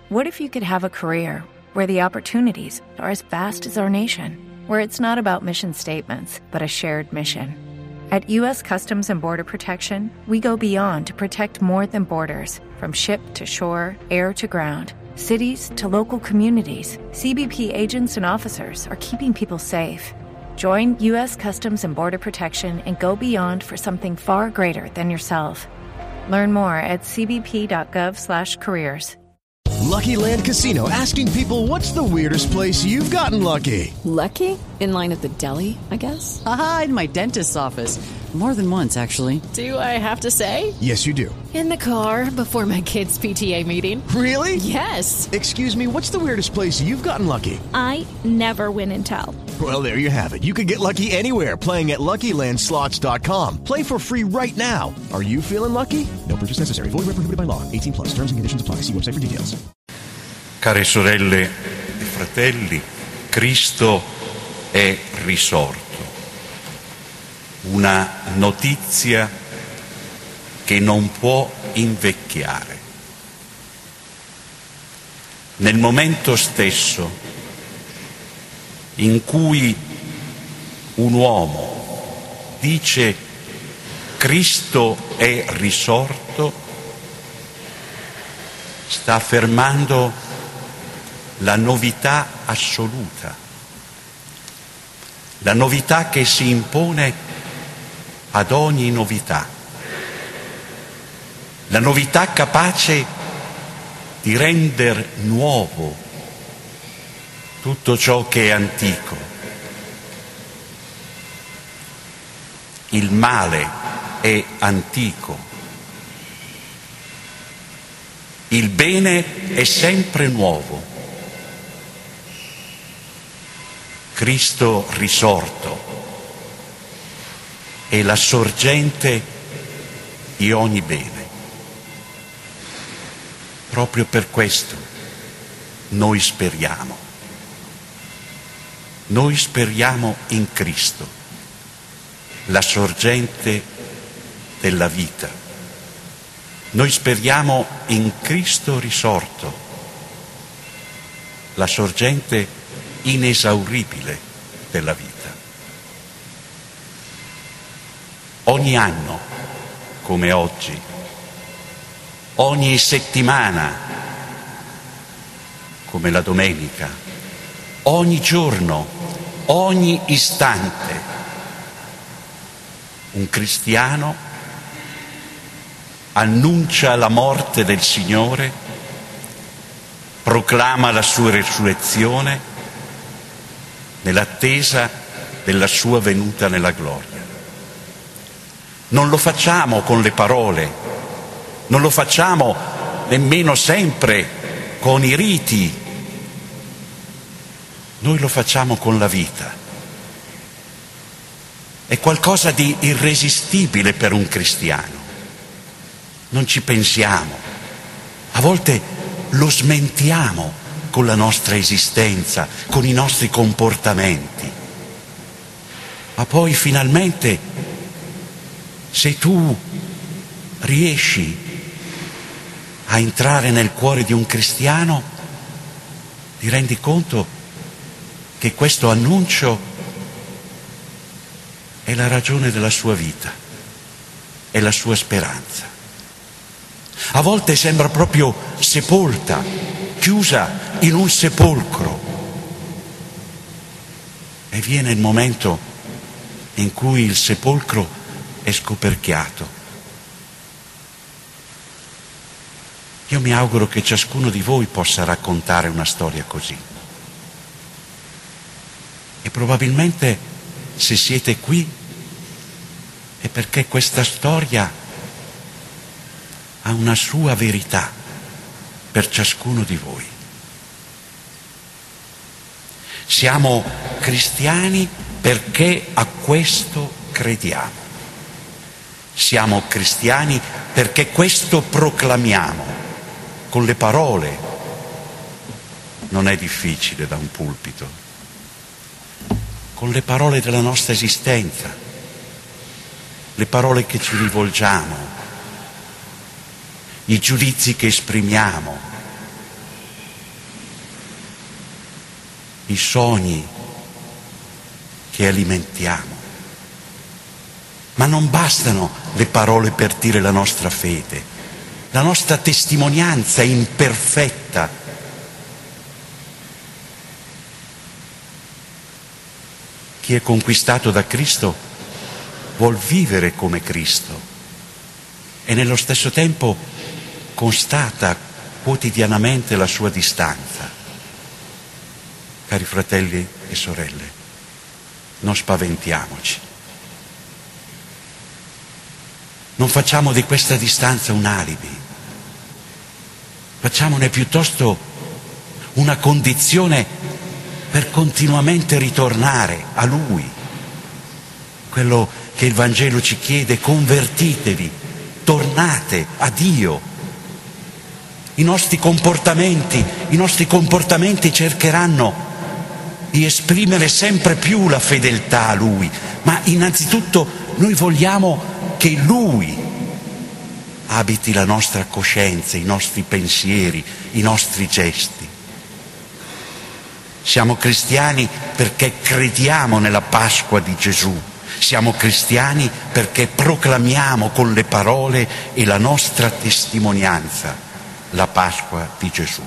What if you could have a career where the opportunities are as vast as our nation, where it's not about mission statements, but a shared mission? At U.S. Customs and Border Protection, we go beyond to protect more than borders. From ship to shore, air to ground, cities to local communities, CBP agents and officers are keeping people safe. Join U.S. Customs and Border Protection and go beyond for something far greater than yourself. Learn more at cbp.gov/careers. Lucky Land Casino, asking people, what's the weirdest place you've gotten lucky? Lucky? In line at the deli, I guess? Aha, in my dentist's office. More than once, actually. Do I have to say? Yes, you do. In the car before my kids' PTA meeting. Really? Yes. Excuse me, what's the weirdest place you've gotten lucky? I never win and tell. Well, there you have it. You can get lucky anywhere, playing at LuckyLandSlots.com. Play for free right now. Are you feeling lucky? No purchase necessary. Void where prohibited by law. 18+. Terms and conditions apply. See website for details. Care sorelle e fratelli, Cristo è risorto. Una notizia che non può invecchiare. Nel momento stesso in cui un uomo dice Cristo è risorto, sta affermando la novità assoluta, la novità che si impone ad ogni novità, la novità capace di rendere nuovo tutto ciò che è antico. Il male è antico, il bene è sempre nuovo. Cristo risorto è la sorgente di ogni bene. Proprio per questo noi speriamo. Noi speriamo in Cristo, la sorgente della vita. Noi speriamo in Cristo risorto, la sorgente inesauribile della vita. Ogni anno, come oggi, ogni settimana, come la domenica, ogni giorno, ogni istante, un cristiano annuncia la morte del Signore, proclama la sua resurrezione nell'attesa della sua venuta nella gloria. Non lo facciamo con le parole, non lo facciamo nemmeno sempre con i riti, noi lo facciamo con la vita. È qualcosa di irresistibile per un cristiano. Non ci pensiamo, a volte lo smentiamo con la nostra esistenza, con i nostri comportamenti. Ma poi finalmente, se tu riesci a entrare nel cuore di un cristiano, ti rendi conto che questo annuncio è la ragione della sua vita, è la sua speranza. A volte sembra proprio sepolta, chiusa in un sepolcro, e viene il momento in cui il sepolcro è scoperchiato. Io mi auguro che ciascuno di voi possa raccontare una storia così. E probabilmente, se siete qui, è perché questa storia ha una sua verità per ciascuno di voi. Siamo cristiani perché a questo crediamo. Siamo cristiani perché questo proclamiamo con le parole. Non è difficile da un pulpito. Con le parole della nostra esistenza, le parole che ci rivolgiamo, i giudizi che esprimiamo, i sogni che alimentiamo. Ma non bastano le parole per dire la nostra fede. La nostra testimonianza è imperfetta. Chi è conquistato da Cristo vuol vivere come Cristo e nello stesso tempo constata quotidianamente la sua distanza. Cari fratelli e sorelle, non spaventiamoci. Non facciamo di questa distanza un alibi, facciamone piuttosto una condizione per continuamente ritornare a Lui. Quello che il Vangelo ci chiede: convertitevi, tornate a Dio. I nostri comportamenti cercheranno di esprimere sempre più la fedeltà a Lui, ma innanzitutto noi vogliamo che Lui abiti la nostra coscienza, i nostri pensieri, i nostri gesti. Siamo cristiani perché crediamo nella Pasqua di Gesù. Siamo cristiani perché proclamiamo con le parole e la nostra testimonianza la Pasqua di Gesù.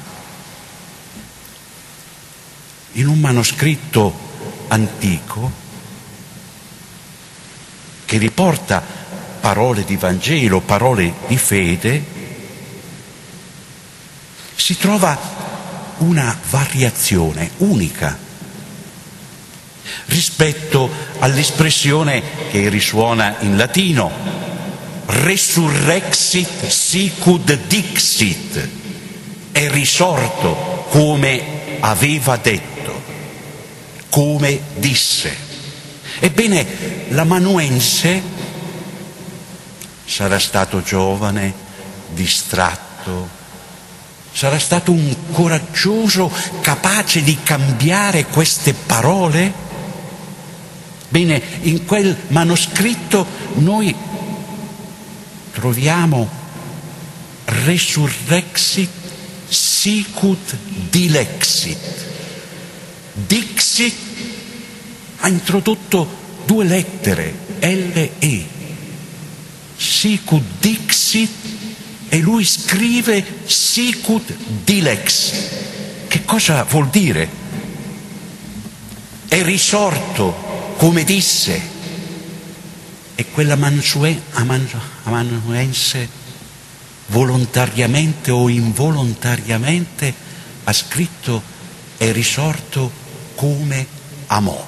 In un manoscritto antico che riporta parole di Vangelo, parole di fede, si trova una variazione unica rispetto all'espressione che risuona in latino: resurrexit sicut dixit, è risorto come aveva detto, come disse. Ebbene, l'amanuense sarà stato giovane, distratto, sarà stato un coraggioso capace di cambiare queste parole? Bene, in quel manoscritto noi troviamo resurrexit sicut dilexit. Dixit ha introdotto due lettere, L-E. Sicut dixit, e lui scrive sicut dilex. Che cosa vuol dire? È risorto come disse. E quell'amanuense volontariamente o involontariamente ha scritto: è risorto come amò.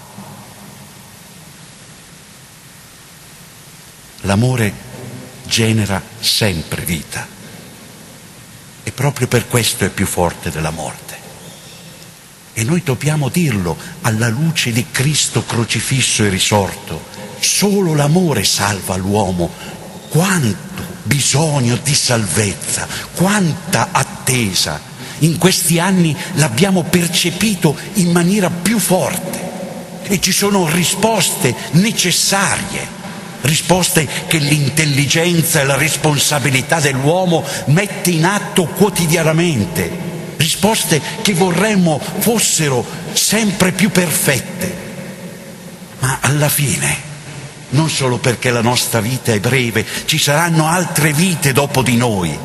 L'amore genera sempre vita e proprio per questo è più forte della morte. E noi dobbiamo dirlo alla luce di Cristo crocifisso e risorto. Solo l'amore salva l'uomo. Quanto bisogno di salvezza, quanta attesa. In questi anni l'abbiamo percepito in maniera più forte e ci sono risposte necessarie. Risposte che l'intelligenza e la responsabilità dell'uomo mette in atto quotidianamente, risposte che vorremmo fossero sempre più perfette. Ma alla fine, non solo perché la nostra vita è breve, ci saranno altre vite dopo di noi,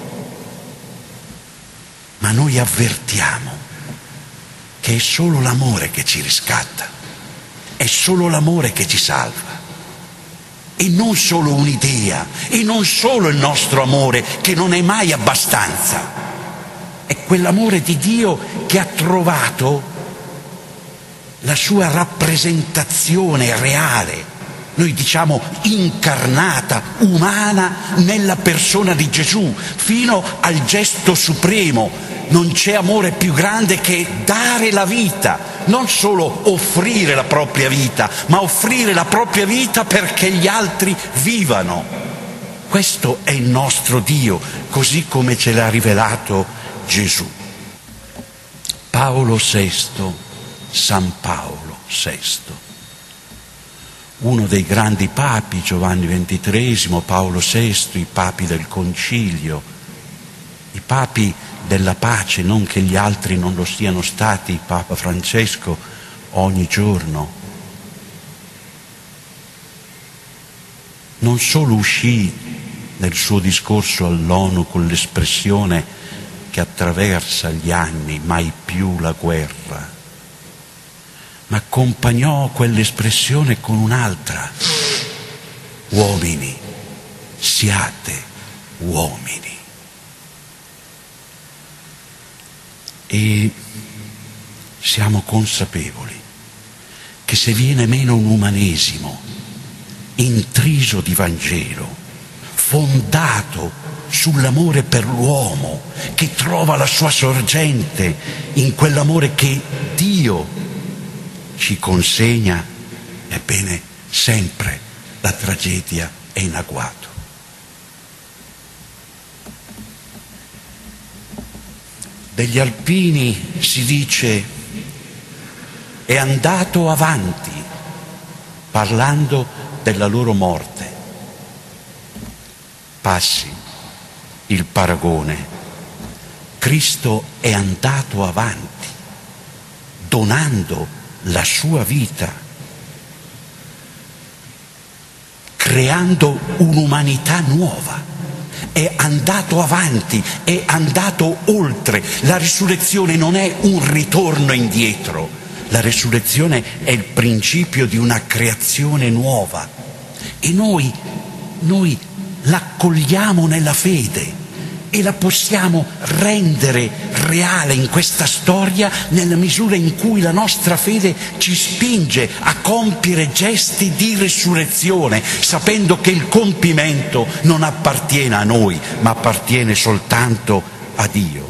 ma noi avvertiamo che è solo l'amore che ci riscatta, è solo l'amore che ci salva. E non solo un'idea, e non solo il nostro amore, che non è mai abbastanza. È quell'amore di Dio che ha trovato la sua rappresentazione reale, noi diciamo incarnata, umana, nella persona di Gesù, fino al gesto supremo. Non c'è amore più grande che dare la vita, non solo offrire la propria vita, ma offrire la propria vita perché gli altri vivano. Questo è il nostro Dio, così come ce l'ha rivelato Gesù. Paolo VI, San Paolo VI, uno dei grandi papi, Giovanni XXIII, Paolo VI, i papi del Concilio, i papi della pace, non che gli altri non lo siano stati, Papa Francesco ogni giorno. Non solo uscì nel suo discorso all'ONU con l'espressione che attraversa gli anni, mai più la guerra, ma accompagnò quell'espressione con un'altra: uomini, siate uomini. E siamo consapevoli che se viene meno un umanesimo intriso di Vangelo, fondato sull'amore per l'uomo, che trova la sua sorgente in quell'amore che Dio ci consegna, ebbene sempre la tragedia è in agguato. Degli alpini si dice è andato avanti, parlando della loro morte. Passi il paragone. Cristo è andato avanti, donando la sua vita, creando un'umanità nuova. È andato avanti, è andato oltre. La risurrezione non è un ritorno indietro, la risurrezione è il principio di una creazione nuova e noi l'accogliamo nella fede e la possiamo rendere reale in questa storia nella misura in cui la nostra fede ci spinge a compiere gesti di risurrezione, sapendo che il compimento non appartiene a noi, ma appartiene soltanto a Dio.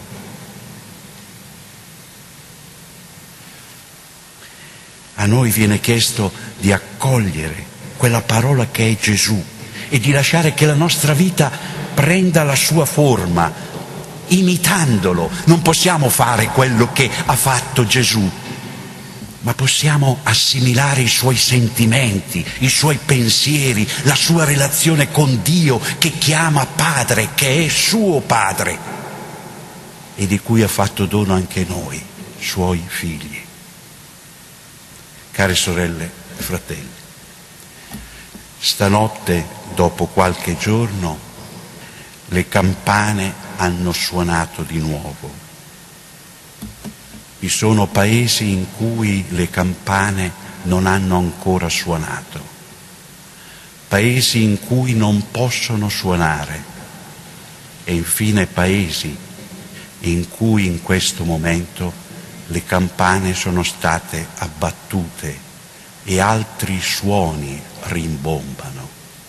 A noi viene chiesto di accogliere quella parola che è Gesù e di lasciare che la nostra vita prenda la sua forma, imitandolo. Non possiamo fare quello che ha fatto Gesù, ma possiamo assimilare i suoi sentimenti, i suoi pensieri, la sua relazione con Dio che chiama Padre, che è suo Padre e di cui ha fatto dono anche noi, suoi figli. Care sorelle e fratelli, stanotte, dopo qualche giorno, le campane hanno suonato di nuovo. Vi sono paesi in cui le campane non hanno ancora suonato, paesi in cui non possono suonare e infine paesi in cui in questo momento le campane sono state abbattute e altri suoni rimbombano.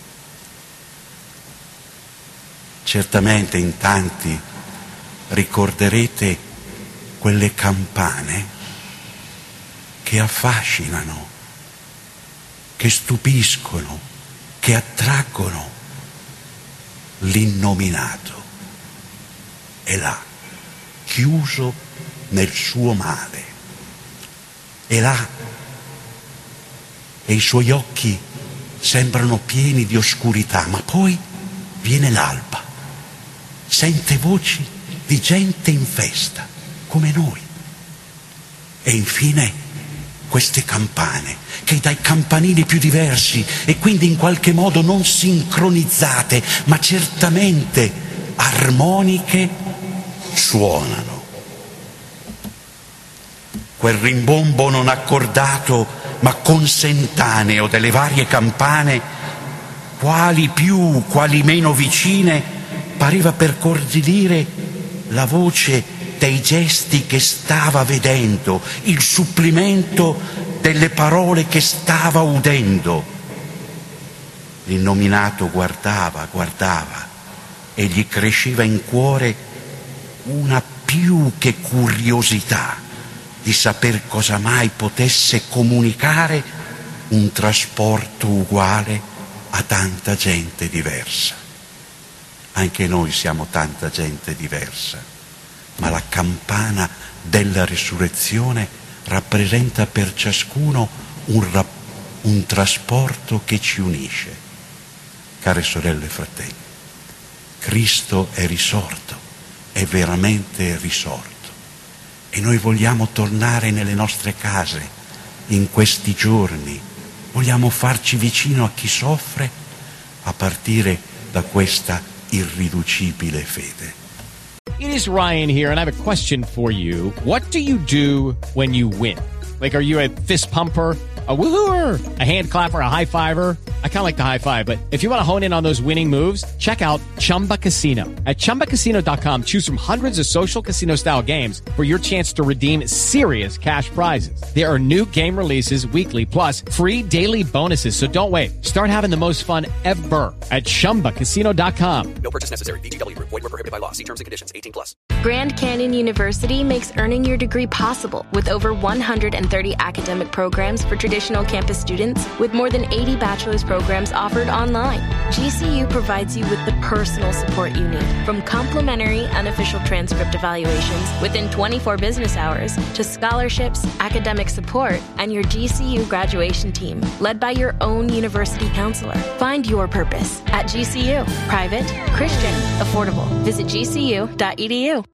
Certamente in tanti ricorderete quelle campane che affascinano, che stupiscono, che attraggono. L'innominato è là, chiuso nel suo male, è là e i suoi occhi sembrano pieni di oscurità, ma poi viene l'alba, sente voci di gente in festa, come noi. E infine queste campane, che dai campanili più diversi e quindi in qualche modo non sincronizzate, ma certamente armoniche, suonano. Quel rimbombo non accordato, ma consentaneo delle varie campane, quali più, quali meno vicine, pareva per cordire la voce dei gesti che stava vedendo, il supplimento delle parole che stava udendo. L'innominato guardava e gli cresceva in cuore una più che curiosità di saper cosa mai potesse comunicare un trasporto uguale a tanta gente diversa. Anche noi siamo tanta gente diversa, ma la campana della risurrezione rappresenta per ciascuno un trasporto che ci unisce. Care sorelle e fratelli, Cristo è risorto è veramente risorto. E noi vogliamo tornare nelle nostre case in questi giorni, vogliamo farci vicino a chi soffre a partire da questa irriducibile fede. It is Ryan here, and I have a question for you. What do you do when you win? Like, are you a fist pumper, a woohooer, a hand clapper, a high fiver? I kind of like the high five, but if you want to hone in on those winning moves, check out Chumba Casino. At ChumbaCasino.com, choose from hundreds of social casino style games for your chance to redeem serious cash prizes. There are new game releases weekly, plus free daily bonuses. So don't wait. Start having the most fun ever at ChumbaCasino.com. No purchase necessary. VGW Group. Void where prohibited by law. See terms and conditions. 18+. Grand Canyon University makes earning your degree possible with over 130 academic programs for traditional campus students, with more than 80 bachelor's programs offered online. GCU provides you with the personal support you need, from complimentary unofficial transcript evaluations within 24 business hours to scholarships, academic support, and your GCU graduation team, led by your own university counselor. Find your purpose at GCU. Private, Christian, affordable. Visit gcu.edu.